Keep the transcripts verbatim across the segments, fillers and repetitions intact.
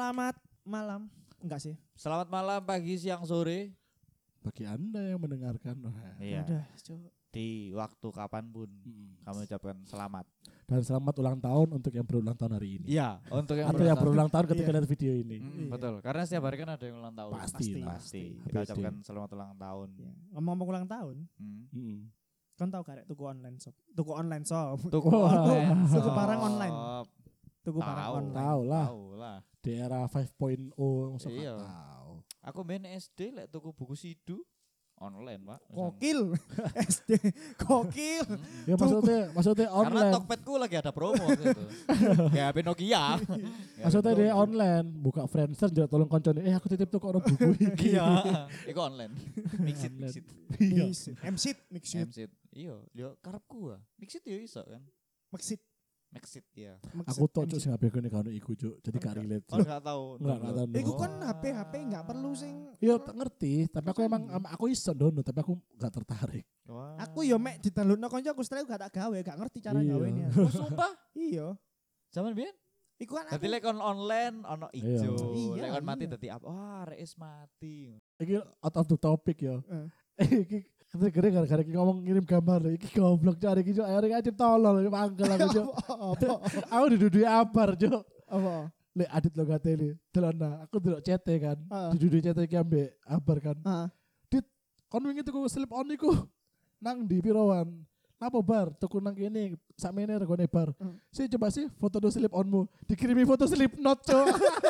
Selamat malam. Enggak sih. Selamat malam, pagi, siang, sore. Bagi Anda yang mendengarkan. Wah. Iya. Udah, Cuk. Di waktu kapanpun Hmm. kami ucapkan selamat. Dan selamat ulang tahun untuk yang berulang tahun hari ini. Iya, untuk yang Atau yang berulang tahun ketika Iya. lihat video ini. Mm, Iya. Betul, karena setiap hari kan ada yang ulang tahun. Pasti Pasti. lah. Pasti. H Kita B D. ucapkan selamat ulang tahun. Ya. Ngomong-ngomong ulang tahun, Hmm. Hmm. kan tahu gak rek tuku online shop. Tuku online shop. Tuku Wah. online. Tuku shop. barang online. Tuku barang Tahu. online. Tahu lah. Tahu lah. Di era lima titik nol masuk Iya. tahu. Aku main S D lek tuku buku sidu online, Pak. Kokil. S D. Kokil. Ya maksudnya maksudnya Karena online. Tokpedku lagi ada promo gitu. Kayak H P Nokia. Maksudnya dia online, buka Friendster juga tolong koncone. Eh aku titip tuh kok ono buku iki. Iya, iku online. Mixit, Online. mixit. Iya. M-Sit, Mixit. Mixit. Iya, dia karepku ah. Mixit yo iso kan. Mixit. Mixit ya. Aku tok cuk sing H P ku nek ono iku cuk. Jadi gak relate. Oh, Cuk. enggak tahu. Enggak enggak tahu. Iku kan H P H P enggak perlu sing. Iya tak ngerti, tapi aku emang am- aku iso download tapi aku gak tertarik. Wah. Aku yo mek di-downloadno kanca aku setelah gak tak gawe, gak ngerti cara Iya. gawe ini. Oh, sumpah. Iya. Zaman biyen. Iku kan Dadi aku. lek kon online ono ijo. Iya. Lek kon mati Iya. dadi apa? Wah, reis mati. Iki out of the topic ya. Eh. Iki kira gara-gara iki ngomong ngirim gambar iki goblok cari iki cuk akhirnya aja tolol mangkel aku cuk. Apa? Aku duduk abar cuk. Apa? Lek adit lo gateli. Delona aku delok cete kan. Ah. Duduk cete iki ambek abar kan. Heeh. Dit kon wingi tuku slip on iku nang di pirowan. Napa bar tuku nang kene sakmene regane bar. Hmm. Sih coba sih foto do slip onmu. Dikirimi foto slip not cuk.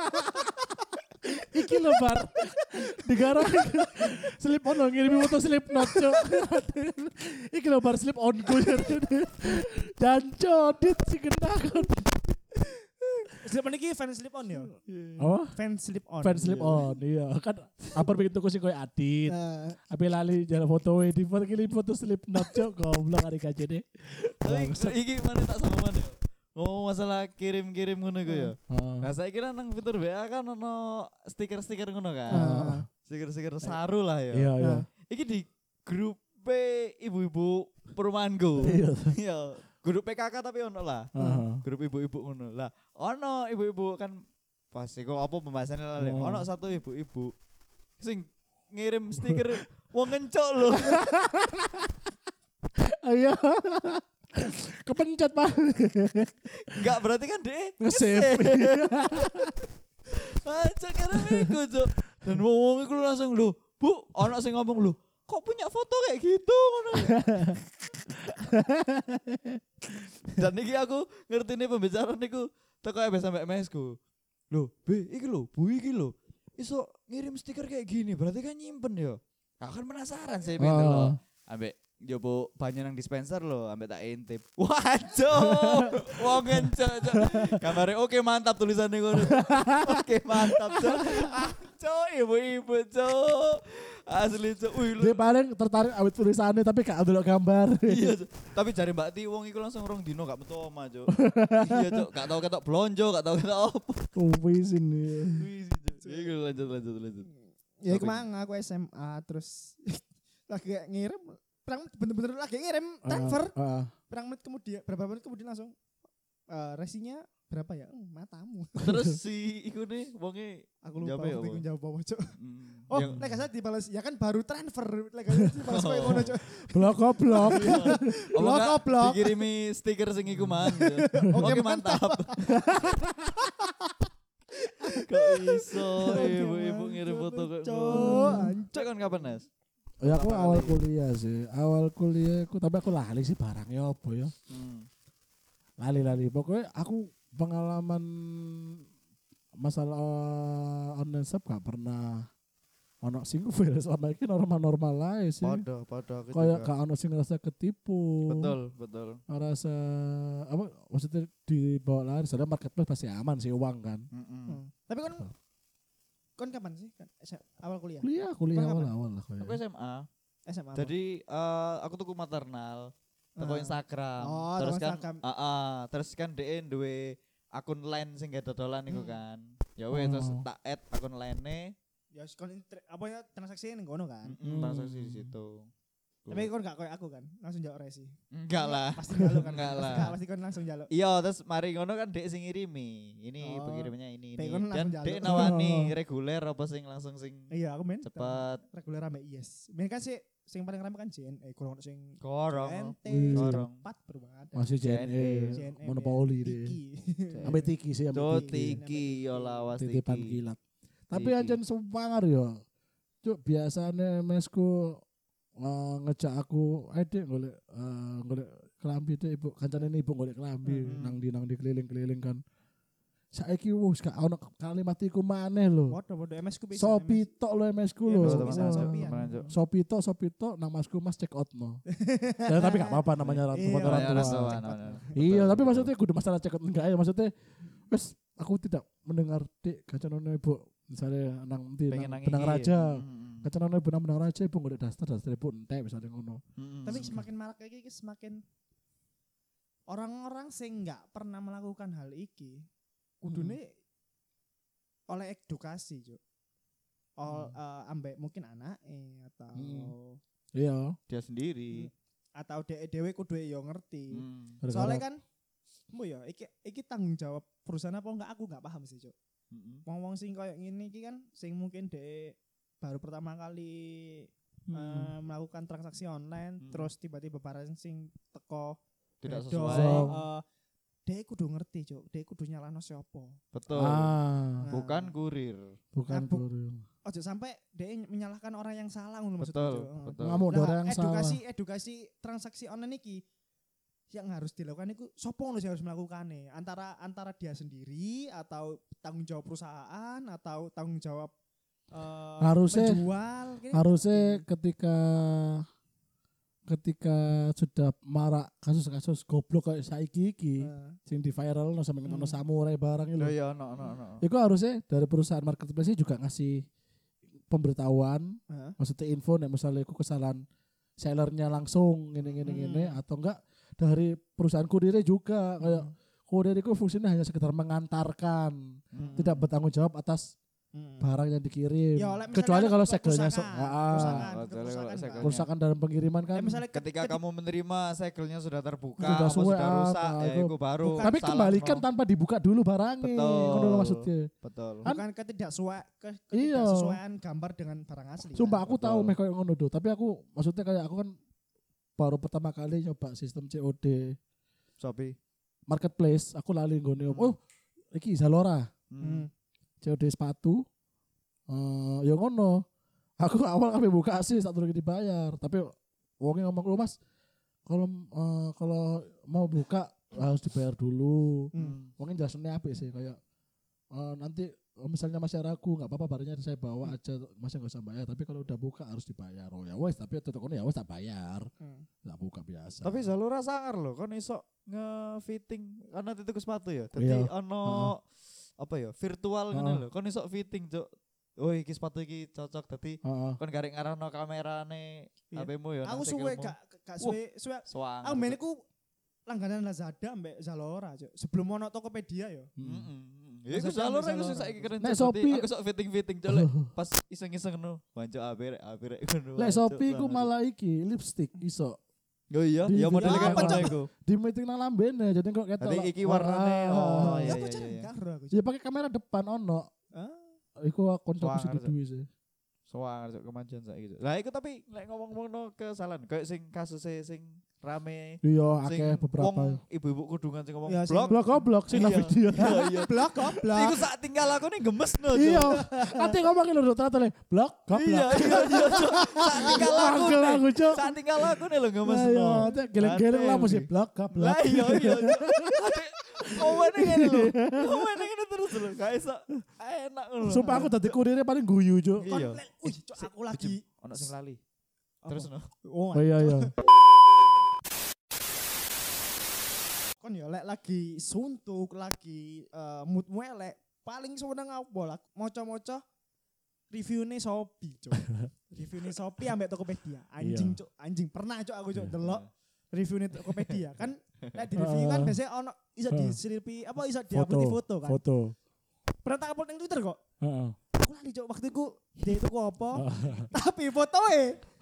Iki lho bar. Digara slip on lo ngirimi foto slip not cuk. Iki lho bar slip onku. Janco dit sing kenakon. Slip on iki fan slip on ya? Apa? Fan slip on. Fan slip on, iya kan. Apa bikin tuku sing koyo adit. Nah, Apa lali jalan foto di foto kili foto slip not cuk goblok hari kajene. Tapi iki mana tak sama mana? Oh, masalah kirim-kirim ngono iku ya. Heeh. Nah, saya kira nang fitur W A kan ono stiker-stiker ngono kan. Heeh. Stiker-stiker saru lah ya. Iya iya. Iki di grup ibu-ibu perumahanku. Iya. Iya, grup P K K tapi ono lah. Heeh. Grup ibu-ibu ngono. Lah, ono ibu-ibu kan pasti kok apa pembahasannya lah. Oh. Ono satu ibu-ibu sing ngirim stiker wong ngencok lho. Iya. Kepencet Pak. Enggak berarti kan deh Nge-save. Aja karena iku, Cuk. Dan wong iku langsung lho, Bu, ono sing ngomong lho, kok punya foto kayak gitu ngono. Dan iki aku ngertine pembicaraan niku teko M S sampai M S ku. Loh, B, iki lho, Bu iki lho. Iso ngirim stiker kayak gini, berarti kan nyimpen ya. Aku kan penasaran sih pengen Oh. lho. Ambek jopo banyak nang dispenser lho, ambek tak intip. Waduh, wong encok. Gambarnya oke mantap tulisannya ngono. Oke mantap, Cok. Ah, Cok, ibu-ibu, Cok. Asli, Cok. Wih, lu. Dia paling tertarik awet tulisannya tapi gak delok gambar. Iya, Cok. Tapi jare Mbak Ti wong iku langsung rong dino gak metu omah, Cok. Iya, Cok. Gak tau ketok blonjo, gak tau ketok opo. Wis ini. Wih, Cok. Iku lanjut lanjut lanjut. ya kemana aku S M A terus lagi ngirim, perang bener-bener lagi ngirim transfer. Heeh. Perang menit kemudian, berapa menit kemudian langsung eh, resinya berapa ya? Hmm, matamu. Terus si iku nih wonge Aku lupa Jawab ya, waktu apa? itu jawab apa, Cuk. hmm, Oh, yang- lek gak salah dibalas, ya kan baru transfer, lek gak salah dibalas koyo ngono, Cuk. Blok goblok. Apa Blok, enggak blok. dikirimi stiker sing iku man. Oke, Oke mantap. Kok iso ibu-ibu ngirim foto kok Cuk, ngono. anjir. Cek kan kapan, Nas? Ya aku Pertama awal kali. kuliah sih. Awal kuliah aku tapi aku lali sih barangnya apa ya. Hmm. Lali-lali. Pokoknya aku pengalaman masalah online shop gak pernah ono sing fail selama ini normal-normal aja sih. Podo, podo aku Kayak juga. gak ono sing ngerasa ketipu. Betul, betul. Ngerasa apa maksudnya dibawa lari soalnya marketplace pasti aman sih uang kan. Mm-mm. Hmm. Tapi kan kon kapan sih? Kan S M A, awal kuliah. Kuliah, kuliah Kapan? awal-awal lah kayak. Aku S M A. S M A. apa? Jadi eh, aku tuku maternal, teko Ah. Instagram. Oh, terus teko kan Instagram. ah, ah, terus kan D N duwe akun line sing gak dodolan iku Hmm. kan. Ya wes terus Oh. tak add akun line-ne. Ya kon inter- apa ya transaksi ning kono kan. Mm-mm, transaksi di situ. Tapi kon gak koyo aku kan, langsung jawab resi. Enggak lah. Pasti njaluk kan. Enggak Pasti lah. gak, pasti kon langsung njaluk. Iya, terus mari ngono kan dek sing ngirimi. Ini Oh. pengirimannya ini Dek ini. kon Dan langsung dek njaluk. nawani reguler apa sing langsung sing Iya, aku main cepat. reguler ambek yes. Main kan sih sing paling rame kan J N E, kurang ono sing Korong. J N T, Wih. Korong. cepat berubah ada. Masih J N E, J N E, monopoli deh. Tiki. Ambil tiki sih, ambil Cuk tiki. tiki yo lawas Titipan tiki. kilat. Tapi Tiki. anjen semangar yo. Cuk biasane mesku uh, ngejak aku, ayo dek golek uh, golek kelambi dek ibu kancane ibu golek kelambi Hmm. nang di nang di keliling-keliling kan. Saiki wis gak ono kalimat iku maneh lho. Waduh-waduh M S ku bisa. Sopi tok lho M S ku Iya, lho. Mas, Betul, bisa, teman, Oh. Sopi. teman, Cuk. Sopi tok, sopi tok nang masku Mas check out no. Ya tapi gak apa-apa namanya orang Iya, tua orang Ya, tua. orang tua, namanya. Iya, Betul, tapi betul. maksudnya kudu masalah check out enggak ya maksudnya wis aku tidak mendengar dik kacanane ibu misalnya nang ndi Pengen nang nang benang iki. raja. Mm, Kacanane ibu nang benang raja ibu golek daster daster ibu entek misalnya ngono. mm, mm. Tapi semakin marak kayak gini semakin orang-orang sing nggak pernah melakukan hal iki kudune oleh edukasi, Cuk. Ol, eh, ambek mungkin anak atau Hmm. Iya. dia sendiri. atau de dewe kudu yo ngerti. Mm, gara-gara- Soalnya kan mbo ya iki iki tanggung jawab perusahaan apa enggak aku enggak paham sih, Cuk. mm, mm. Wong-wong sing koyo ngene iki kan sing mungkin de baru pertama kali Hmm. eh, melakukan transaksi online Hmm. terus tiba-tiba barang sing teko Tidak bedo, sesuai. eh, dia kudu ngerti, Cuk. Dia kudu nyalano siapa. Betul. Ah, Nah, Bukan kurir. bukan Nah, bu- kurir. Ojo sampai dia menyalahkan orang yang salah ngono maksudnya, Betul, Cuk. betul. Ngamuk Lah, orang yang salah. edukasi edukasi transaksi online iki yang harus dilakukan itu sopo ngono sing harus melakukannya antara antara dia sendiri atau tanggung jawab perusahaan atau tanggung jawab eh, Harusnya- penjual kayaknya Harusnya ngerti. ketika ketika sudah marak kasus-kasus goblok kayak saiki iki Eh, sing di viral no sampe Hmm. ngono samurai barang itu. Oh iya, no, no, no. Iku harusnya dari perusahaan marketplace juga ngasih pemberitahuan, eh, maksudnya info nek misalnya iku kesalahan sellernya langsung ngene-ngene Hmm. ngene atau enggak dari perusahaan kurirnya juga kayak hmm, kurir itu fungsinya hanya sekedar mengantarkan, Mm. tidak bertanggung jawab atas hmm. barang yang dikirim. Ya, oleh misalnya Kecuali kalau ke segelnya so, kerusakan, ah, kerusakan, Kecuali kalau kerusakan, segel- Pak. kerusakan dalam pengiriman kan. Ya, misalnya Ketika ketika- kamu menerima segelnya sudah terbuka, Sudah apa suwe, sudah ah, rusak, ah, ya itu. itu baru. Bukan Tapi salah, kembalikan no. tanpa dibuka dulu barangnya. Betul. Ngono lho maksudnya. Betul. Kan- bukan ketidaksesuaian ke, Iya. ketidaksesuaian gambar dengan barang asli. Sumpah kan? aku Betul. tahu meh kayak ngono do, tapi aku maksudnya kayak aku kan baru pertama kali nyoba sistem C O D Shopee. marketplace, aku lali nggone. Hmm. Oh, iki Zalora, Hmm. C O D sepatu. Eh, ya ngono. Aku awal kami buka sih saat dulu dibayar, tapi wongnya ngomong lu Mas, kalau eh, kalau mau buka harus dibayar dulu. Hmm. Mungkin jelasannya apa sih kayak eh, nanti oh, misalnya masih ragu nggak apa-apa barangnya saya bawa aja masih nggak usah bayar tapi kalau udah buka harus dibayar. Oh ya wes tapi tetep kono ya wes tak bayar Hmm. nggak buka biasa. Tapi Zalora sangar loh, kan iso nge-fitting karena titik sepatu ya. Jadi Iya. ono apa ya, virtual ngono Heeh. lho. Kon iso fitting, Cuk. Oh iki sepatu iki cocok dadi Heeh. kon garek ngarano kamerane Iya. H P-mu ya. Aku suwe gak gak suwe suwe Swang. aku main iku langganan Lazada mbek Zalora, Cuk. Sebelum ono Tokopedia yo. Hmm. Ya iku Maksudnya Zalora ambil iku sing Zalora. saiki keren. Nek Cuk. Shopee- Dadi aku sok fitting-fitting Cuk. Lek pas iseng-iseng ngono. Wancuk apik apik ngono. Lek wancuk Shopee ku banget. malah iki lipstick iso Oh iya, Di- ya di- model Ah, kayak apa, ngono Cuk? iku. di meeting nang lambene jadi kok ketok. Nanti lah. iki warnane, Ah, oh, ah. iya, Ya apa iya, cara iya. karo aku. Ya pakai kamera depan ono. Ah. Iku konco Suara, sing Cuk. duwe sih. Soang Cuk kemajuan saiki. Cuk. Lah iku tapi lek ngomong-ngomong no kesalahan kayak sing kasus sing rame Iya sing akeh beberapa. wong ibu-ibu kudungan sing ngomong Ya, sing- blok. Blok goblok sih nang Iya. video. Iya iya. Blok goblok. Iku sak tinggal aku nih gemes no. Cuk. Iya. Ate ngomongin lho ternyata le blok Iya goblok. iya iya. Cuk. Sak tinggal aku. Manggel nih. aku, Cuk. Sak tinggal aku nih lho gemes Iya, no. ate geleng-geleng lah mesti blok goblok. Lah iya iya. Ngomongin ngene lho. Ngomongin ngene terus lho. Gak iso enak ngono. Sumpah aku dadi kurirnya paling guyu, Cuk. Kon Iya. lek- Wih, Cuk, aku lagi. Ono sing lali. Apa? Terus no. Oh, Oh iya iya. kon ya lek lagi suntuk, lagi eh, moodmu elek, paling seneng apa lah? Moco-moco reviewnya Shopee, Cuk. Reviewnya Shopee ambek Tokopedia. Anjing, Iya. Cuk. Anjing pernah, Cuk, aku Cuk Iya. delok reviewnya Tokopedia. Kan lek di review kan Ah. biasanya ono iso Ah. diselipi apa iso diupload di foto kan. Foto. Pernah tak upload ning Twitter kok. Heeh. Aku lali, Cuk, waktu itu dia itu kok apa? Tapi fotoe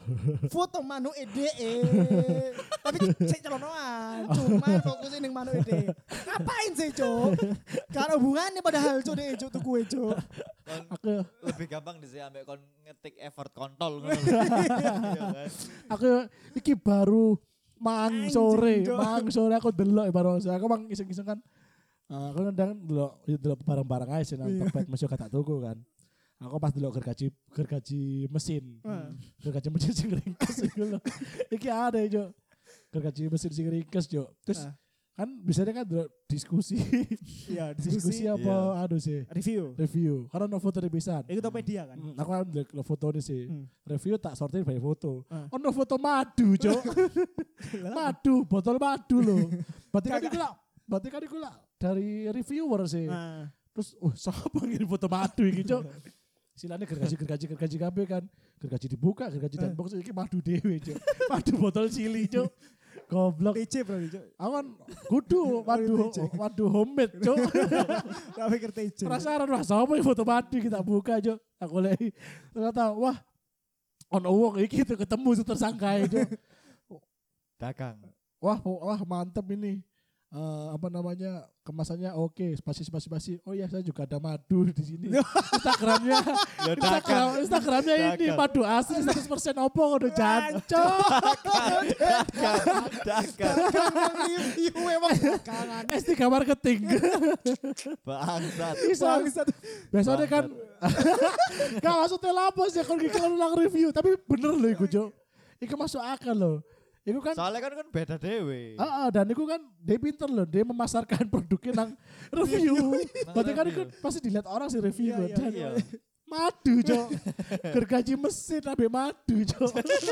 foto manuk ede. Tapi sik celonoan, cuman fokusin ning manuk ede. Ngapain sih, Cuk? Karo hubungannya padahal Cuk dek Cuk tuku Cuk. Aku lebih gampang di sini ambek kon ngetik effort kontol ngono. Iya kan. Aku iki baru mang Anjing, sore, Cuk. mang sore aku delok baru aku mang iseng-iseng kan. Uh, aku nendang delok delok barang-barang aja sih nang Iya. Tokped mesti gak tak tuku kan. Aku pas delok gergaji gergaji mesin. Heeh. Gergaji mesin sing ringkes iku lho. Iki ada yo. Gergaji mesin sing ringkes yo. Terus Ah. kan biasanya kan delok diskusi. Iya, diskusi diskusi apa aduh sih review. review. Karena no foto di pisan. Itu Tokopedia kan. Hmm, aku kan delok foto ini sih. Hmm. Review tak sortir by foto. Ah. Ono foto madu, Cok. Madu, botol madu loh. Berarti kan Kakak. iku lah, berarti kan iku lah dari reviewer sih. Nah, Terus, oh siapa ngirim foto madu iki, Cok? Silane gergaji gergaji gergaji kabeh kan. Gergaji dibuka, gergaji dan box iki madu dewe, Cok. Madu botol cili, Cok. Goblok. P C bro Cuk. Aku kan kudu madu madu homemade, Cok. Tak pikir T C. Penasaran wah sapa iki foto madu kita buka, Cok. Aku lihat ternyata wah ono wong iki tuh ketemu tuh tersangka, Cok. Dagang. Wah, wah mantep ini. Eh, apa namanya kemasannya oke, spasi spasi spasi. Oh ya saya juga ada madu di sini. Instagramnya, Ya Instagram, Instagramnya ini Dagang. madu asli seratus persen opo udah jancok. Dagang. Dagang. Review emang belakangan. S tiga marketing. Bangsat. Bisa. Bangsat. Biasanya kan gak maksudnya lapos ya kalau kita ulang review, tapi bener loh iku, Cok. Iku masuk akal loh. Iku kan Soalnya kan kan beda dewe. Ah, ah, dan itu kan dia pinter loh, dia memasarkan produknya nang review. Berarti kan itu review. pasti dilihat orang sih review. Iya, iya, Dan iya. madu, Cok. Gergaji mesin tapi madu, Cok.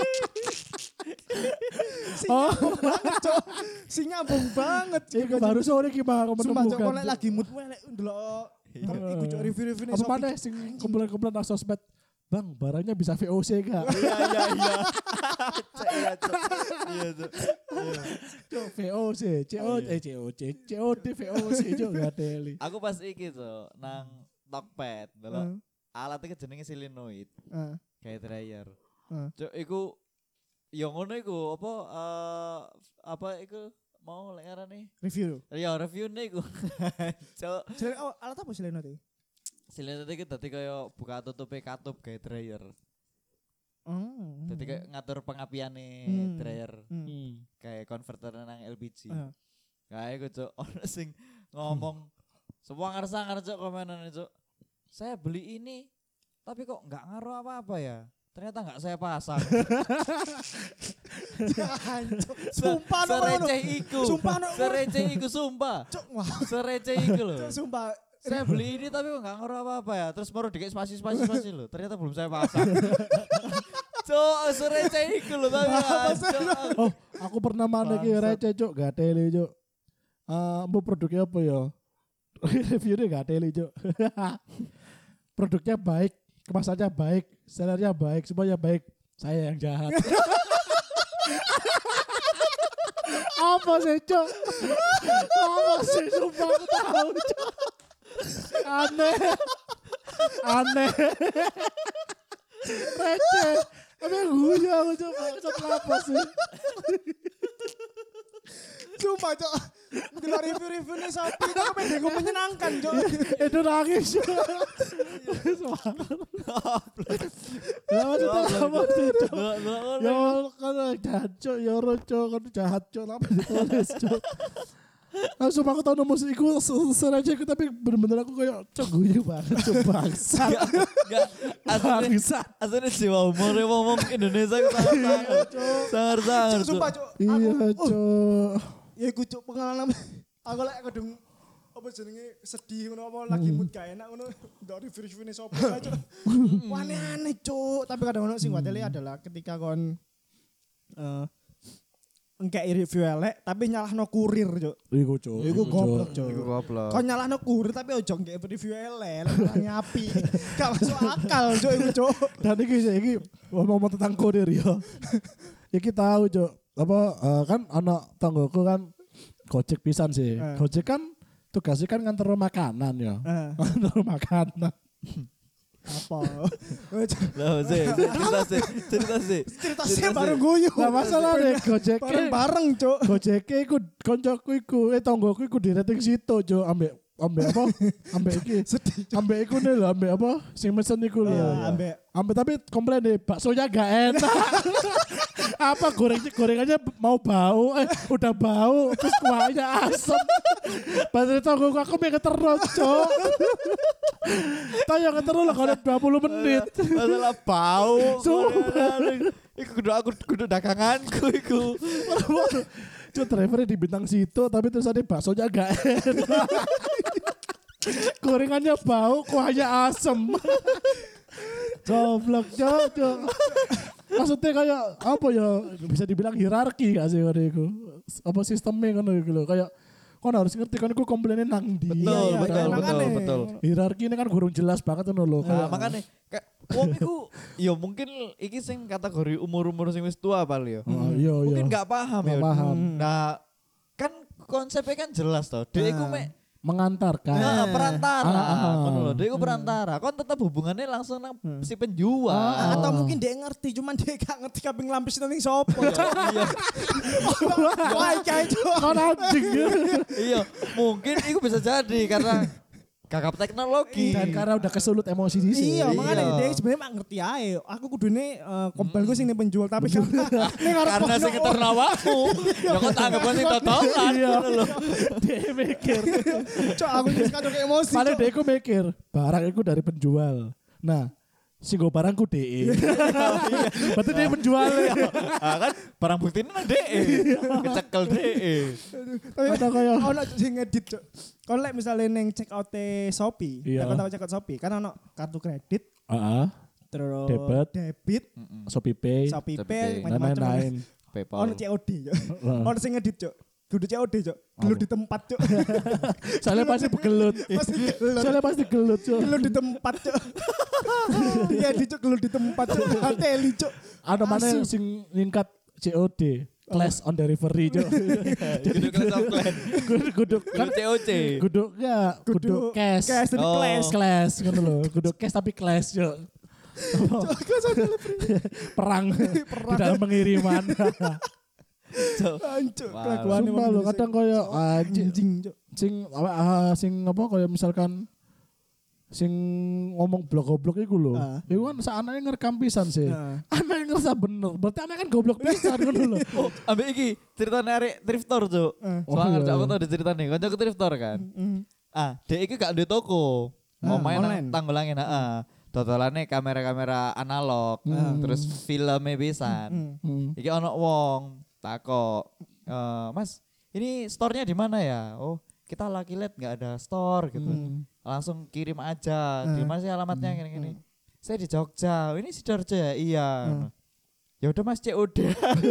Si Oh. nyambung banget, Cok. Si nyambung banget. Iku baru sore gimana aku Sumpah Cok, menemukan. kok lek lagi mood elek ndelok. Tapi iku Cok review-review Apa mana sing kumpulan-kumpulan nang sosmed. Bang, barangnya bisa V O C gak? Iya iya iya. Cek, Iya Cok. Iya Cok. Iya. Cok, V O C, C O Iya. eh C O C, C O D V O C, Cok, gak teli. Aku pas iki Cok nang Tokped, delok alat iki jenenge solenoid, Heeh. kayak dryer. Heeh. Cok iku yo ngono iku apa eh apa iku mau lek ngarani? Review. Ya review-ne iku. Cok, Selain oh, alat apa selain itu? solenoid iki dadi kaya buka tutupe katup kayak dryer. Oh. Dadi kayak ngatur pengapiane Hmm. dryer Hmm. kayak konverter nang L P G. Heeh. Kayak iku Cok, ono sing ngomong semua ngarsangar Cok komenane Cok. Saya beli ini tapi kok nggak ngaruh apa-apa ya. Ternyata nggak saya pasang. Jancuk. Sumpah no ngono. Sereceh iku. Sumpah no. Sereceh iku sumpah. Cok, wah. Sereceh iku loh. Cok, sumpah. Saya beli ini tapi kok nggak ngaruh apa-apa ya. Terus baru dikit spasi spasi spasi loh. Ternyata belum saya pasang. Cok, sereceh iku loh tapi. Cok. Oh, aku pernah mana ki Bangsat. receh, Cok, gak teli, Cok. Eh, mau produknya apa ya? Reviewnya gak teli, Cok. Produknya baik, kemasannya baik, sellernya baik, semuanya baik. Saya yang jahat. Apa sih, Cok? Apa sih, sumpah aku tahu, Cok. Aneh. Aneh. Receh. Tapi guyu aku, Cok. Cok, apa sih? Sumpah, Cok. Delok review-review nih Shopee itu pengen gue menyenangkan, Cok. Itu nangis. Ya maksudnya apa sih, Cok? Loh, loh, loh, Ya loh. kan jahat, Cok. Ya orang, Cok. Kan jahat, Cok. Apa ditulis, Cok? Langsung aku tau nomor iku serajah aku tapi bener-bener aku kayak Cok guyu banget, Cok, bangsa. Enggak. Aslinya Bangsa. aslinya jiwa humornya ngomong Indonesia itu sangat sangat sangat. Cok, sumpah, Cok. Iya, Aku- oh, Cok. Ya iku Cok pengalaman. Aku lek kadung apa jenenge sedih ngono apa lagi mood gak enak ngono ndok review-review nih Shopee ae, Cok. Wah, aneh, Cok. Tapi kadang ono sing watele adalah ketika kon eh engkek review elek tapi nyalahno kurir, Cok. Iku, Cok. Iku goblok, Cok. Iku goblok. Kau nyalahno kurir tapi ojo nggak review elek, lah nyapi. Gak masuk akal, Cok, iku, Cok. Dan iki sih iki ngomong tentang kurir ya. Iki tahu, Cok. Apa eh, kan anak tanggoku kan Gojek pisan sih. Eh. Gojek kan tugasnya kan nganter makanan ya. Eh, Nganter makanan. Apa? Lah sih, cerita sih, cerita sih. Cerita sih bareng guyu. Lah masalah deh Gojek. Bareng-bareng, Cuk. Gojek iku koncoku iku, eh tonggoku iku di rating situ, Jo, ambek ambek apa? Ambek iki. Ambek iku nih lho, ambek apa? Sing mesen iku lho. Ambek Ambek tapi komplain deh, baksonya gak enak. Apa gorengnya gorengannya mau bau, eh udah bau, terus kuahnya asem. Padahal tonggoku aku pengen terus, Cok. Tanya terus lah kalau dua puluh menit. Masalah bau. Sumpah. Iku kudu aku kudu daganganku iku. Cuk drivernya di bintang situ tapi terus ada baksonya gak enak. Gorengannya bau, kuahnya asem. Goblok, Cuk, Cuk. Maksudnya kayak apa ya, bisa dibilang hierarki gak sih ngono iku. Apa sistemnya ngono iku lho, kayak kon harus ngerti kan iku komplainnya nang ndi. Betul, iya, betul, iya, betul, makanya. betul. Hierarki ini kan kurang jelas banget ngono lho. Nah, Kayak makanya kayak wong iku ya mungkin iki sing kategori umur-umur sing wis tua paling ya. Oh, iya iya. Mungkin gak paham Nggak ya. paham. Nah, kan konsepnya kan jelas toh. Dia iku mek Mengantarkan. nah, perantara. Ah, ah, ah. Ngono lho, dia iku perantara. Kon tetap hubungannya langsung nang si penjual. Ah, atau mungkin dia ngerti cuman dia gak ngerti kaping lampis ning sopo. Iya. Wah, kayak itu. Kon anjing. Iya, mungkin itu bisa jadi karena gagap teknologi. Dan karena udah kesulut emosi di sini. Iya, makanya Iya. dia sebenarnya mak ngerti ae. Aku kudune uh, kompel gue sing ning penjual tapi karena ning arep Karena sing ngeterno awakmu. Ya kok tak anggap sing totolan Iya. ngono lho. Dia mikir. Cok aku wis kadung emosi. Paling Cok. dia iku mikir, barang itu dari penjual. Nah, sing go barangku D E. Berarti dia penjual. Ah kan barang bukti ini nang D E. Kecekel D E. Tapi Atau kayak ono sing ngedit, Cok. Kon lek misale ning check out Shopee, Iya. ya kon tau check out Shopee, kan ono kartu kredit, Heeh. terus Debit. debit, Shopee Pay. Shopee Shopee Pay, Pay. Dan macam-macam. lain-lain. PayPal. Ono C O D, Cok. Ono sing ngedit, Cok. Kudu C O D, Cok. Gelut di tempat, Cok. Soalnya pasti begelut. Pasti gelut. Soalnya pasti gelut, Cuk. Gelut di tempat, Cok. Iya, di Cok gelut di tempat, Cok. Ateli, Cok. Ada mana Asu. sing ningkat C O D? Class on delivery, Cuk. Jadi kelas offline. Kudu kan Kan C O C. kudu enggak, kudu cash. Cash dari Oh. class. Class ngono lho. Kudu cash tapi class, Cuk. Perang di dalam pengiriman. Ancuk, Wow. kelakuan Sumpah lho, kadang koyo anjing anjing, Cok. sing apa ah, sing apa koyo misalkan sing ngomong blok-goblok iku lho. Ah. Iku kan saanane ngerekam pisan sih. Nah. Anaknya ngerasa bener. Berarti anak kan goblok pisan ngono lho. Oh, ambek iki ceritane arek thriftor, Cuk. Eh. Oh, Soalnya iya. aku tau di ceritane, kancaku thriftor kan. Mm. Ah, dek iki gak duwe toko. Ah, Omahe online. nang Tanggulangin, heeh. Dodolane kamera-kamera analog, Hmm. terus filmnya pisan. Mm. Hmm. Iki ono wong takok, "Eh, Mas, ini store-nya di mana ya?" "Oh, kita Lucky Land nggak ada store gitu." Hmm. Langsung kirim aja. Di Hmm. mana sih alamatnya gini-gini. Saya di Jogja. "Oh, ini Sidoarjo ya?" "Iya." Hmm. Ya udah Mas, C O D.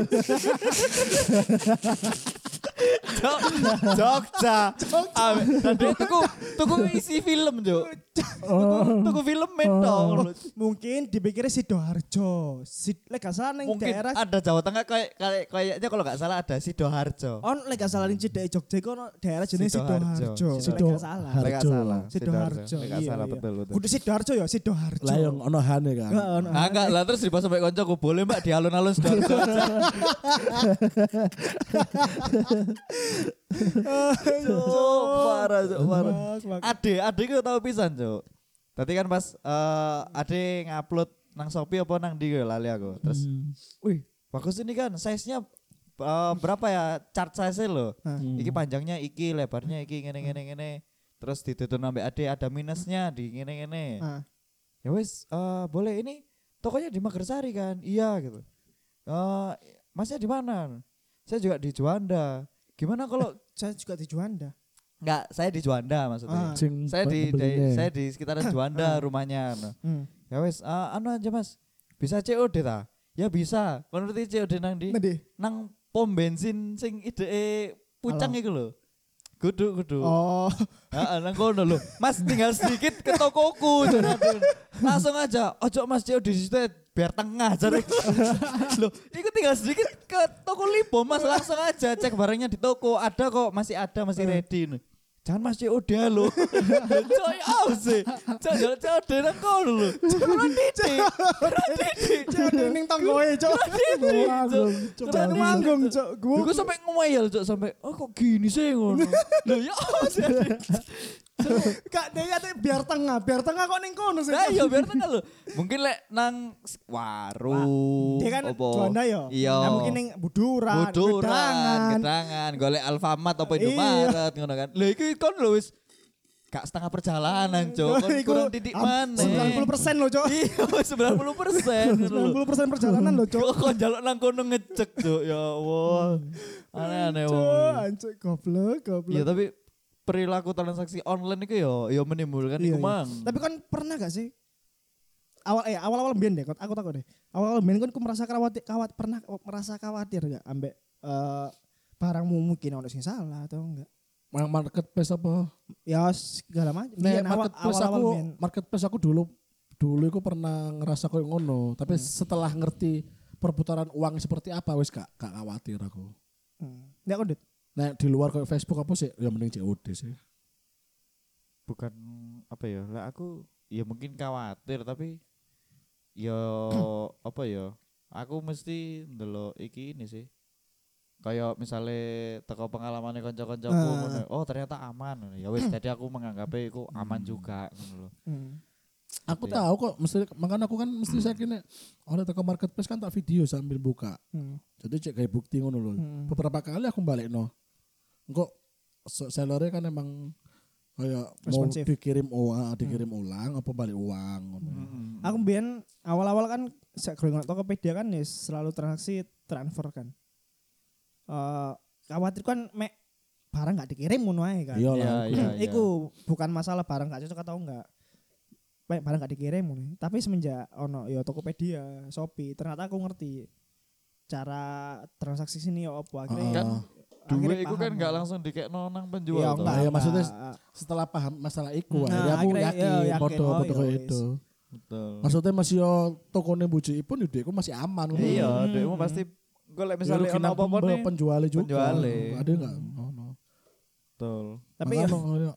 Jog, Jogja. Ah, dan dia tuku tuku isi film, Jo. Oh. Tuku film mentol. Mungkin dipikirnya Sidoarjo. Si lek gak salah ning Mungkin daerah ada Jawa Tengah kayak kayak kayaknya kalau nggak salah ada Sidoarjo. on lek gak salah ning Cidek Jogja iku ono daerah jenenge Sidoarjo. Sidoarjo. Lek Sido- gak salah. Har- Lek nggak Harjo. salah. Sidoarjo. Lek nggak iya, salah iya. betul betul. Kudu Sidoarjo ya, Sidoarjo. Lah yang ono hane kan. Heeh, ono. Ah enggak lah terus dibahas sampai koncoku boleh Mbak di alun-alun Sidoarjo. Cuk, parah, cuk, parah. Ade, ade ku tau pisan, Cuk. Tadi kan pas eh ade ngupload nang Shopee apa nang ndi ya, lali aku. Terus, Hmm. wih, bagus ini kan size-nya eh, berapa ya chart size lo. Hmm. Iki panjangnya iki, lebarnya iki ngene ngene ngene. Terus ditutur ambek ade ada minusnya di ngene ngene. Ah. Ya wis, eh boleh ini tokonya di Magersari kan? Iya gitu. Eh Masnya di mana? Saya juga di Juanda. Gimana kalau Saya juga di Juanda. enggak, saya di Juanda maksudnya. Ah. Sing Saya di, di pembelinya. saya di sekitaran Juanda rumahnya. Nah. Hmm. Ya wes, ah, anu aja Mas. Bisa C O D ta? Ya bisa. Kon ngerti C O D nang di? Nanti. Nang pom bensin sing ide pucang iku lho. Kudu kudu. Oh, Heeh, nang kono lho. Mas tinggal sedikit ke tokoku. Jare. Langsung aja, ojo Mas C O D di situ biar tengah jare. Loh, iku tinggal sedikit ke toko Lipo Mas, langsung aja cek barangnya di toko. Ada kok, masih ada, masih ready. Jangan Mas C O D lo. Cok ya apa sih? Cok jaluk C O D nang kono lho. Ora titik. Ora titik. C O D ning tonggoe, Cuk. Manggung, Cuk. Cuk manggung, Cuk. Gue sampai ngomel Cok sampai oh kok gini sih ngono. Lho ya apa sih? Kak dia tuh biar tengah, biar tengah kok ning kono sih. Nah iya biar tengah lho. Mungkin lek nang warung. Dia kan opo. Juanda ya. Iya. Nah, mungkin ning buduran, Buduran, gedangan. gedangan, golek Alfamart apa Iya. Indomaret ngono kan. Lha iki kon lho wis gak setengah perjalanan, Cok. Kon Iku kurang titik mana. sembilan puluh persen loh, Cok. Iya, sembilan puluh persen. sembilan puluh persen perjalanan loh, Cok. Kok kon njaluk nang kono ngecek, Cok. Ya Allah. Aneh-aneh Cok, wong. anjir goblok, goblok. Iya, tapi perilaku transaksi online itu ya ya menimbulkan Iya, iku iya. mang. Tapi kan pernah gak sih awal eh awal-awal mbiyen deh, aku takut deh. Awal-awal mbiyen kan aku merasa khawatir, kawat pernah merasa khawatir gak ambek eh barangmu mungkin ono sing salah atau enggak. Yang marketplace apa? Ya segala macam. Nek Biyen awal- marketplace awal-awal aku, mbiyen. marketplace aku dulu dulu aku pernah ngerasa koyo ngono, tapi Hmm. setelah ngerti perputaran uang seperti apa wis gak gak khawatir aku. Hmm. Ya kok, Dit. Nah di luar kayak Facebook apa sih? Ya mending C O D sih. Bukan apa ya? Lah aku ya mungkin khawatir tapi ya apa ya? Aku mesti ndelok iki ini sih. Kayak misalnya teko pengalamannya kanca-kancaku Ah. ngono. Oh, ternyata aman. Ya wis jadi aku menganggapnya iku aman juga ngono lho. Hmm. Aku Tapi- tahu kok, mesti makanya aku kan mesti saya kini oleh toko marketplace kan tak video sambil buka. Hmm. Jadi cek kayak bukti ngono lho. Hmm. Beberapa kali aku balik no. Kok sellernya kan emang kayak mau Responsif. dikirim uang, dikirim ulang apa balik uang ngono. Hmm. Aku mbiyen awal-awal kan sak growing Tokopedia kan ya selalu transaksi transfer kan. Eh khawatir kan mek barang gak dikirim ngono ae kan. Iya Iya, lah. iya, iya. Iku bukan masalah barang gak cocok atau enggak. Mek barang gak dikirim ngono. Tapi semenjak ono ya Tokopedia, Shopee, ternyata aku ngerti cara transaksi sini ya apa akhirnya. Ah. Kan akhirnya duwe iku kan paham. gak langsung dikekno nang penjual Iya, toh. enggak, Ya, maksudnya enggak. Setelah paham masalah iku, Nah, akhirnya aku akhirnya, yakin, iya, yakin. foto Oh, foto iya, kayak wis. itu. Betul. Maksudnya masih yo tokone bujuk pun yo aku masih aman. ngono. Iya, Hmm. dekmu pasti golek Ya, misalnya rugi ono nang apa-apa pembe- nih. penjualnya juga. penjualnya. Ada enggak? Oh, no. Betul. Tapi ya Makanya,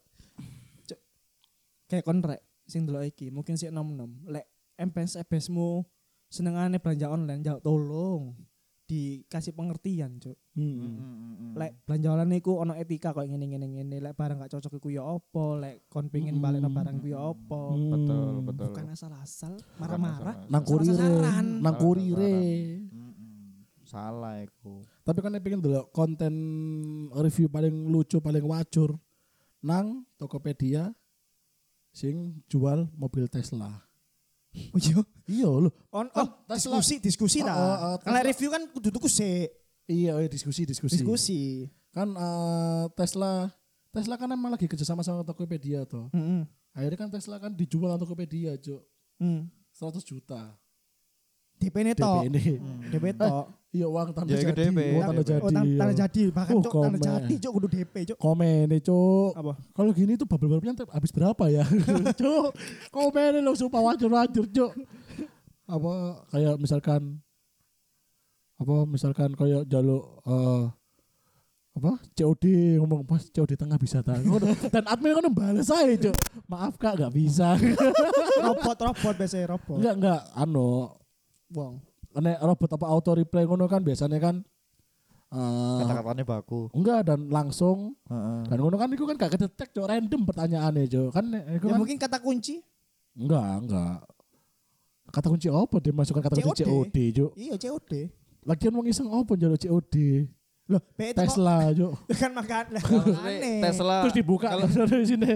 kayak kontrek sing delok iki mungkin sik nom-nom. Lek M P S E B S mu senengane belanja online, jauh tolong dikasih pengertian, Cuk. hmm. Lek belanja online iku ono etika kok ngene ngene ngene, lek barang gak cocok iku ya apa, lek kon pengin balekno barang iku ya apa. Hmm. Betul, betul. Bukan asal-asal marah-marah. asal-asal. Nang kurire, Sasaran. nang Salah, kurire. Mm-mm. Salah iku. Tapi kan pengen dulu konten review paling lucu, paling wacur nang Tokopedia sing jual mobil Tesla. Oh iya. Iya lho. On Kan oh, Tesla- diskusi diskusi Oh, ta. oh, oh, Kalau Tesla- review kan kudu tuku sik. Iya, iya diskusi, diskusi. Diskusi. Kan eh, Tesla Tesla kan emang lagi kerjasama sama Tokopedia toh. Heeh. Akhirnya kan Tesla kan dijual sama Tokopedia, Cuk. Hmm. seratus juta. D P ne D P tok. ini. D P tok. Iya uang tanda Ya, itu jadi. D P. Uang tanda D P. jadi. Oh, tan- tanda iya. jadi bahkan Oh, Cuk, tanda komen. jadi Cuk kudu D P, Cuk. Komen nih, Cuk. Apa? Kalau gini tuh bubble-bubble-nya habis berapa ya? Cuk, komen lo supaya wajur-wajur, Cuk. Apa kayak misalkan apa misalkan kayak jaluk eh apa C O D ngomong pas C O D tengah bisa tak Ngono. Dan admin kan balas saya Cuk, maaf kak gak bisa. Robot robot biasanya robot. enggak enggak anu Wong. nek robot apa auto replay ngono kan biasanya kan eh Kata-katanya baku. enggak dan langsung Heeh. dan ngono kan itu kan gak kedetek Cuk, random pertanyaannya Cuk. Kan itu Ya kan mungkin kata kunci. enggak enggak kata kunci apa dia masukkan kata kunci C C O O D. D Cuk. Iya C O D. Lagian wong iseng apa njaluk C O D? Loh, P itu kok Tesla Cuk. kan makan lah. Maksudnya Aneh. Tesla Terus dibuka kalau dari sini.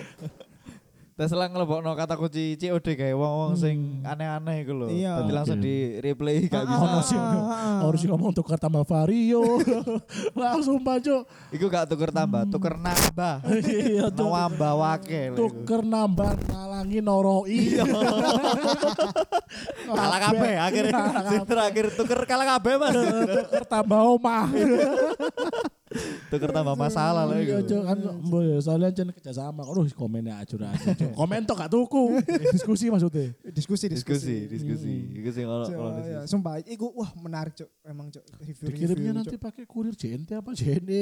Tesla ngelebokno kata kunci C O D kayak wong-wong sing aneh-aneh iku lho. Iya. Dadi langsung Oke. di replay gak Ah, bisa. Ono sih. ah, ah. Harus ngomong tukar tambah vario. Langsung Cuk. Iku gak tuker tambah, tuker nambah. Iya Cuk. Nawambah wakil. iku. Tuker nambah nalangi noroi. Kalah kabeh akhirnya. Sing terakhir tuker kalah kabeh Mas. Tuker tambah omah. tuker tambah masalah lah Iya, iku. Cuk, kan mbok ya soalnya jen kerjasama. Aduh, komennya acur aja. Cuk. Komen tok gak tuku. Diskusi maksudnya. Diskusi Diskusi, diskusi. Iku sing kalau Cuk, kalau ya, diskusi. sumpah iku wah menarik Cuk. Emang Cuk review. Dikirimnya nanti pakai kurir J N T apa J N E.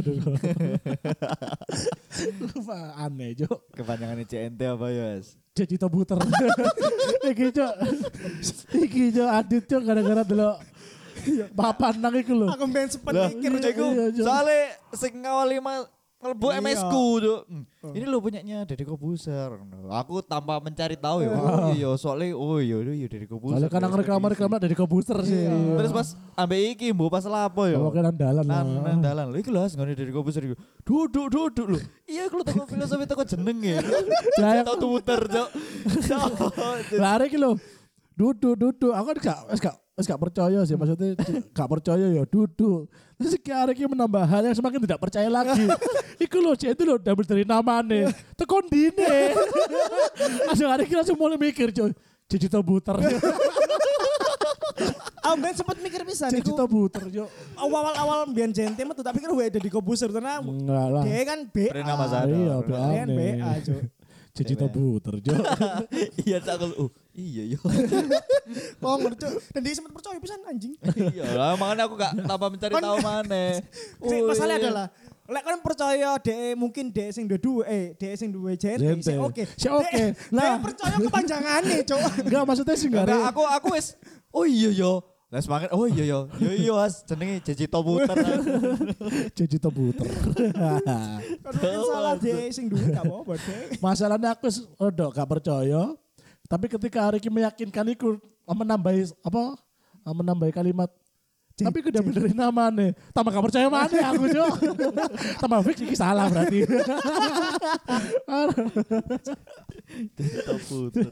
Wah, aneh, Cuk. Kepanjangannya C N T apa ya, Mas? Jadi tobuter. Iki, Cuk. Iki, Cuk, adit, Cuk, gara-gara delok papan nang iku lho. Aku pengen sempet Lah, mikir iya, Cuk. iya, Cuk. Soalnya sing ngawali mah ngelbu Iya. M S ku tuh. Hmm, Oh. Ini lo punyanya Deddy Kobuser. Aku tanpa mencari tahu ya. Oh. Oh iya, soalnya oh iya iya Deddy Kobuser. Soalnya kan nang reklama-reklama dari komputer sih. Iya. Terus pas ambek iki mbok pas lapo ya. Kamu kan andalan lah. Nan nan dalan lho iki lho ngene Deddy Kobuser iku. Duduk duduk lho. Iya aku teko filosofi teko jenenge. Lah, Tau Twitter, Cok. lari iki lho. Duduk, duduk. Aku kan gak wis gak wis gak percaya sih maksudnya gak percaya ya duduk. Terus iki arek iki menambah hal yang semakin tidak percaya lagi. Iku lho cek itu lho double dari namane. Tekon dine. Langsung arek iki langsung mulai mikir coy. Digital buter. Aku pengen sempet mikir pisan iku. Digital buter yo. Awal-awal mbiyen J N T mah tuh tak pikir wae Deddy Kobuser tenan. Enggak lah. Dia kan B A. Bernama Zadar. Iya, Dia kan B A aneh. Cuk. Digital buter yo. Iya tak aku. Oh, iya yo. Oh ngerti Cuk. Dan dia sempet percaya pisan anjing. Iya lah makanya aku gak tanpa mencari tahu mana. Sing masalahnya adalah lek kan percaya DE mungkin DE sing duwe eh DE sing duwe J N T J N T. sing oke. Si oke. Nah, Nah. percaya kepanjangane, Cuk. Enggak maksudnya sih enggak Enggak, aku aku wis oh iya yo. Lah semangat oh iya yo. Yo iya Mas jenenge Jeji Tobuter. digital buter. Kalau salah DE sing duwe gak apa-apa, DE. Masalahnya aku wis rada gak percaya. Tapi ketika hari ini meyakinkan iku menambahi apa? Menambahi kalimat J- tapi udah benerin namanya. Tambah gak percaya mana aku, Cok. Tambah fix iki salah berarti. Jeji Tobuter.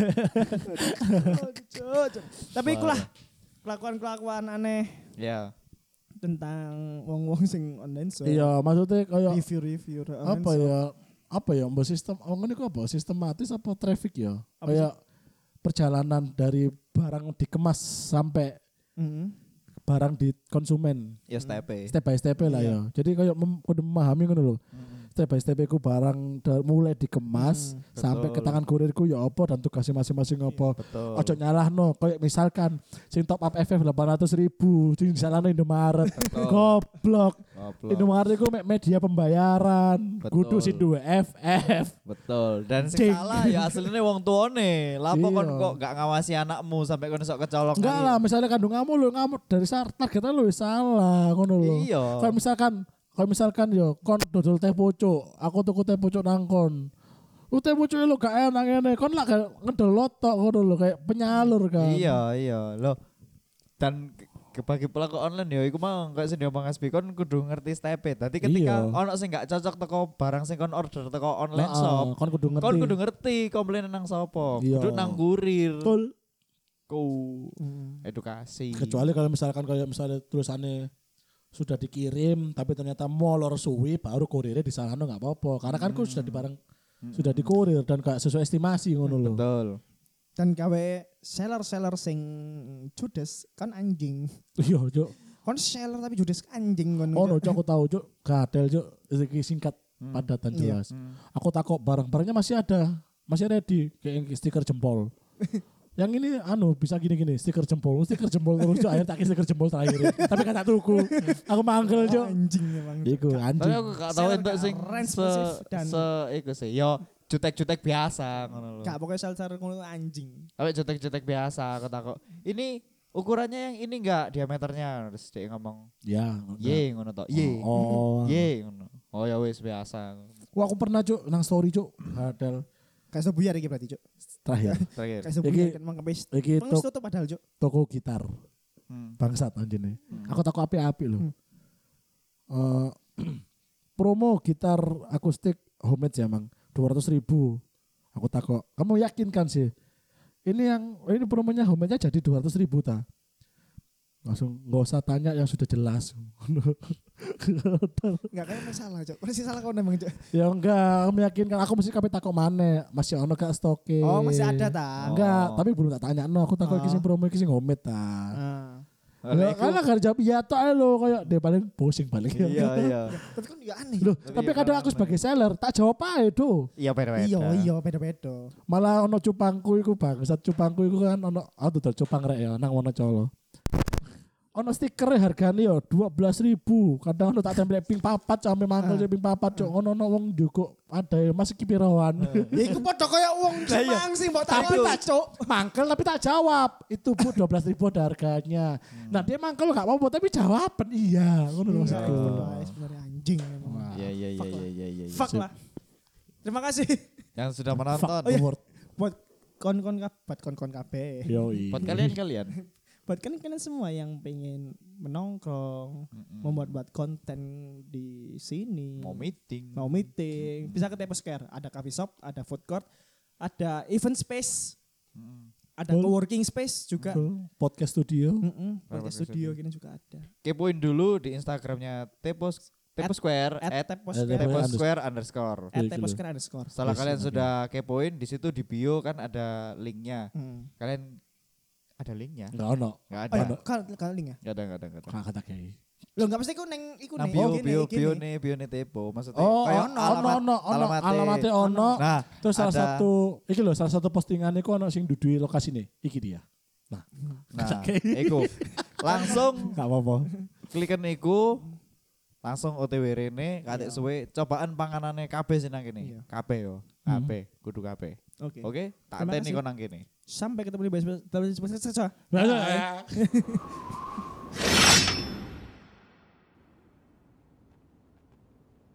Cuk, Cuk. Tapi ikulah kelakuan-kelakuan aneh Ya. tentang wong-wong sing online shop. Iya, maksudnya kayak Review-review online apa shop. ya? Apa ya mbak sistem ngomongin itu apa? Sistematis apa traffic ya? Apa Kayak perjalanan dari barang dikemas sampai Mhm. barang di konsumen. Ya step Step by step lah Iya. ya. Jadi kayak mem- kudu memahami ngono lho. Step by step ku barang da- mulai dikemas Hmm, sampai ke betul. tangan kurirku ya apa dan tugasnya masing-masing apa. Betul. Ojo nyalahno kayak misalkan sing top up F F delapan ratus ribu sing disalahno Indomaret. Goblok. Goblok. Indomaret itu me- media pembayaran. Betul. Kudu sing duwe F F. Betul. Dan Cing. sing salah ya aslinya wong tuane. Lapo kon Iya. kok gak ngawasi anakmu sampai kon sok kecolong. Enggak lah, misalnya kandung kamu lo ngamuk dari saat targetnya lo wis salah ngono lho. Iya. Kalau misalkan kalau misalkan yo kon dodol teh pucuk, aku tuku teh pucuk nang kon. Lu teh pucuk lo gak enak ngene, kon lah gak ngedol lotok ngono lho kayak penyalur kan. Iya, iya. Loh. Dan ke- bagi pelaku online ya iku mau kayak sing diomong Asbi kon kudu ngerti step-e. Dadi ketika Iya. ono sing gak cocok teko barang sing kon order teko online Nah, shop, kon kudu ngerti. kon kudu ngerti komplain nang sapa. Iya. Kudu nang kurir. Betul. Ku Mhm. edukasi. Kecuali kalau misalkan kayak misalnya tulisannya sudah dikirim tapi ternyata molor suwi baru kurirnya disalahno nggak apa-apa karena kan ku sudah di barang sudah dikurir dan gak sesuai estimasi ngono lho. Betul. Dan gawe seller-seller sing judes kan anjing. Iya, Cuk. Kon seller tapi judes anjing kon. Oh, no, Cuk, aku tahu, Cuk. Gadel, Cuk. Iki singkat, padat dan Iya. jelas. Aku takut barang-barangnya masih ada, masih ready kayak yang stiker jempol. Yang ini anu bisa gini-gini stiker jempol, stiker jempol terus Cuk. Akhirnya tak kasih stiker jempol terakhir. Tapi kan tak tuku. Aku manggil, Cuk. Anjing emang. Iku Tapi anjing. aku gak tahu Seller entuk gak sing keren, se spesif dan- se iku sih. Yo jutek-jutek biasa ngono lho. Gak pokoknya seller ngono anjing. Tapi jutek-jutek biasa aku takut. Ini ukurannya yang ini enggak diameternya terus dia ngomong Ya. ye ngono to. Ye. Oh. Ye ngono. Oh ya wis biasa. Wah, aku pernah, Cuk, nang story, Cuk. Gadel Kayak sebuyar iki berarti, Cuk. terakhir. Terakhir. Kayak sebuyar Iki- kan mang kepis. Iki Mang tok wis tutup padahal, Cuk. toko gitar. Hmm. Bangsat anjene. Hmm. Aku takut api-api loh. Hmm. Eh, promo gitar akustik homemade ya, Mang. dua ratus ribu. Aku takut. Kamu yakin kan sih? Ini yang ini promonya homemade-nya jadi dua ratus ribu ta? Langsung nggak usah tanya yang sudah jelas. Enggak kayak masalah, Cuk. Masih salah kau emang, Cuk. Ya enggak, aku meyakinkan aku mesti kabeh takut mana? Masih ono gak stoke? Oh, masih ada ta. Enggak, Oh. tapi belum tak tanya no, aku takut Oh. iki sing promo iki sing homemade ta. Ah. Ya, karena gak jawab iya tok ae lho kayak dia paling pusing balik. Iya iya. Tapi kan juga aneh. Loh, Tapi tapi ya kadang karena aku sebagai seller tak jawab ae do. Iya beda-beda. Iya iya beda-beda. Malah ono cupangku iku bangsat cupangku iku kan ono aku dodol cupang rek ya nang Wonocolo. Ono stiker hargane yo dua belas ribu. Kadang ono tak tempel ping papat sampe mangkel Ah. ping papat cok ono ono wong njukuk ada Mas iki pirawan. Ya iku padha kaya wong Lah iya. Jepang sih mbok Tapi takon tak cok mangkel tapi tak jawab. Itu Bu dua belas ribu ada harganya. Nah dia mangkel gak apa-apa tapi jawaban iya ngono lho maksudku. Sebenarnya sebenarnya anjing emang. Wah. Iya iya iya Fuck iya lah. iya iya. Fuck lah. Terima kasih Yang sudah menonton. Fuck the world. buat kon-kon kabeh, kon-kon kabeh. Yoi. Buat kalian-kalian. Buat kan kalian semua yang pengen menongkrong, membuat-buat konten di sini. Mau meeting. Mau meeting, bisa ke Teposcare. Ada coffee shop, ada food court, ada event space, Mm. ada Betul. co-working space juga. Betul. Podcast studio. Mm-mm, podcast Podcast studio studio. gini juga ada. Kepoin dulu di Instagramnya Tepos Tepo Square At at Teposcare, Tepo- Tepo Square underscore. at Gitu. Teposcare underscore. Setelah Yes, kalian yes, sudah kepoin di situ di bio kan ada linknya. Hmm. Kalian ada linknya? Enggak ono. Enggak Oh ada. ya, kan kan link ya. Enggak ada, enggak ada, enggak ada. Kakak tak kayak. Lo enggak pasti ku neng iku Nah, nih. bio Oh, gini, bio gini. bio nih, bio nih Tepo. Maksudnya Oh, kayak ono ono alamat- ono ono alamatnya. alamatnya ono. Nah, Terus salah ada- satu iki lho salah satu postingan iku ono sing dudui lokasi nih. Iki dia. Nah, nah, Oke. iku langsung enggak apa-apa. kliken iku langsung O T W rene katik Iya. suwe cobaan panganane kabeh sih nang Iya. kene. Kabeh yo. Hmm. Kabeh, kudu kabeh. Oke. Oke, tak Terima teni kasih. kon nang kene. Sampai ketemu di bahas bahas bahas bahas- bahas- Nah,